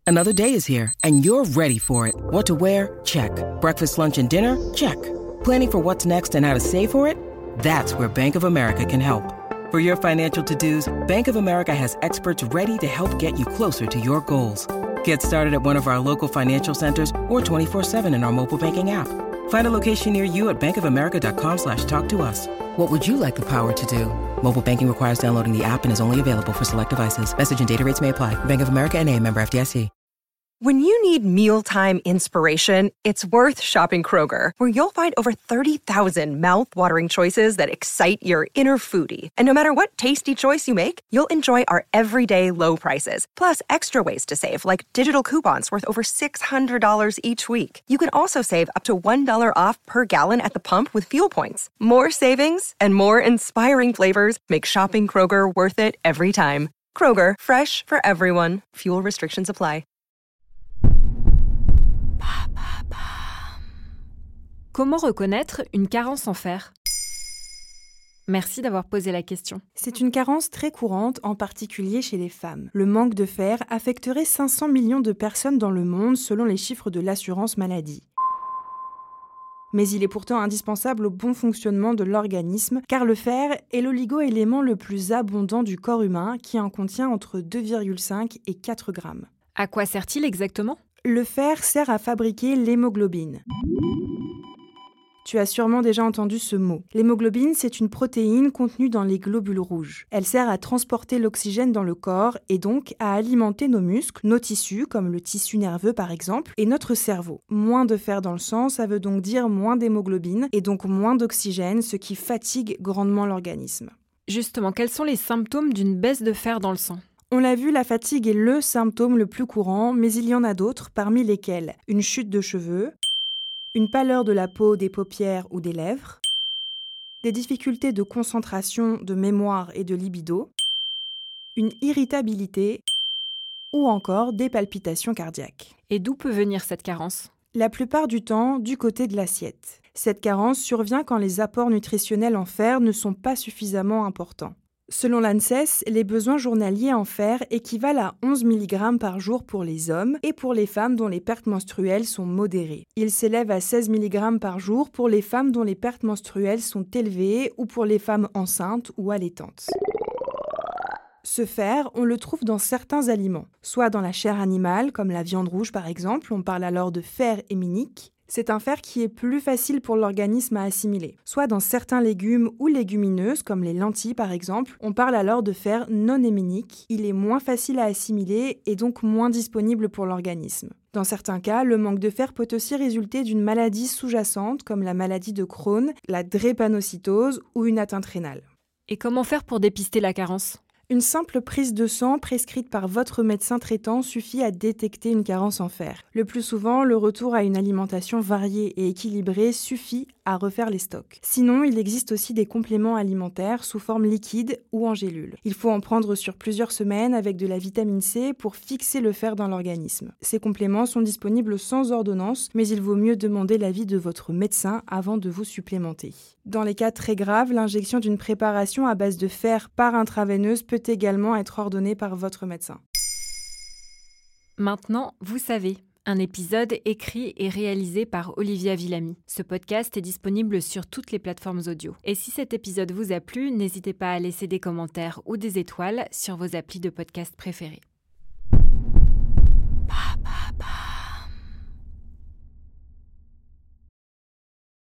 Another day is here, and you're ready for it. What to wear? Check. Breakfast, lunch, and dinner? Check. Planning for what's next and how to save for it? That's where Bank of America can help. For your financial to-dos, Bank of America has experts ready to help get you closer to your goals. Get started at one of our local financial centers or 24/7 in our mobile banking app. Find a location near you at bankofamerica.com/talktous. What would you like the power to do? Mobile banking requires downloading the app and is only available for select devices. Message and data rates may apply. Bank of America N.A., member FDIC. When you need mealtime inspiration, it's worth shopping Kroger, where you'll find over 30,000 mouth-watering choices that excite your inner foodie. And no matter what tasty choice you make, you'll enjoy our everyday low prices, plus extra ways to save, like digital coupons worth over $600 each week. You can also save up to $1 off per gallon at the pump with fuel points. More savings and more inspiring flavors make shopping Kroger worth it every time. Kroger, fresh for everyone. Fuel restrictions apply. Comment reconnaître une carence en fer ? Merci d'avoir posé la question. C'est une carence très courante, en particulier chez les femmes. Le manque de fer affecterait 500 millions de personnes dans le monde selon les chiffres de l'assurance maladie. Mais il est pourtant indispensable au bon fonctionnement de l'organisme, car le fer est l'oligo-élément le plus abondant du corps humain, qui en contient entre 2,5 et 4 grammes. À quoi sert-il exactement ? Le fer sert à fabriquer l'hémoglobine. Tu as sûrement déjà entendu ce mot. L'hémoglobine, c'est une protéine contenue dans les globules rouges. Elle sert à transporter l'oxygène dans le corps et donc à alimenter nos muscles, nos tissus, comme le tissu nerveux par exemple, et notre cerveau. Moins de fer dans le sang, ça veut donc dire moins d'hémoglobine et donc moins d'oxygène, ce qui fatigue grandement l'organisme. Justement, quels sont les symptômes d'une baisse de fer dans le sang ? On l'a vu, la fatigue est le symptôme le plus courant, mais il y en a d'autres, parmi lesquels une chute de cheveux, une pâleur de la peau, des paupières ou des lèvres, des difficultés de concentration, de mémoire et de libido, une irritabilité ou encore des palpitations cardiaques. Et d'où peut venir cette carence ? La plupart du temps, du côté de l'assiette. Cette carence survient quand les apports nutritionnels en fer ne sont pas suffisamment importants. Selon l'ANSES, les besoins journaliers en fer équivalent à 11 mg par jour pour les hommes et pour les femmes dont les pertes menstruelles sont modérées. Ils s'élèvent à 16 mg par jour pour les femmes dont les pertes menstruelles sont élevées ou pour les femmes enceintes ou allaitantes. Ce fer, on le trouve dans certains aliments, soit dans la chair animale, comme la viande rouge par exemple, on parle alors de fer héminique. C'est un fer qui est plus facile pour l'organisme à assimiler. Soit dans certains légumes ou légumineuses, comme les lentilles par exemple, on parle alors de fer non héminique. Il est moins facile à assimiler et donc moins disponible pour l'organisme. Dans certains cas, le manque de fer peut aussi résulter d'une maladie sous-jacente, comme la maladie de Crohn, la drépanocytose ou une atteinte rénale. Et comment faire pour dépister la carence ? Une simple prise de sang prescrite par votre médecin traitant suffit à détecter une carence en fer. Le plus souvent, le retour à une alimentation variée et équilibrée suffit à refaire les stocks. Sinon, il existe aussi des compléments alimentaires sous forme liquide ou en gélule. Il faut en prendre sur plusieurs semaines avec de la vitamine C pour fixer le fer dans l'organisme. Ces compléments sont disponibles sans ordonnance, mais il vaut mieux demander l'avis de votre médecin avant de vous supplémenter. Dans les cas très graves, l'injection d'une préparation à base de fer par intraveineuse peut également être ordonnée par votre médecin. Maintenant, vous savez. Un épisode écrit et réalisé par Olivia Villamy. Ce podcast est disponible sur toutes les plateformes audio. Et si cet épisode vous a plu, n'hésitez pas à laisser des commentaires ou des étoiles sur vos applis de podcast préférés.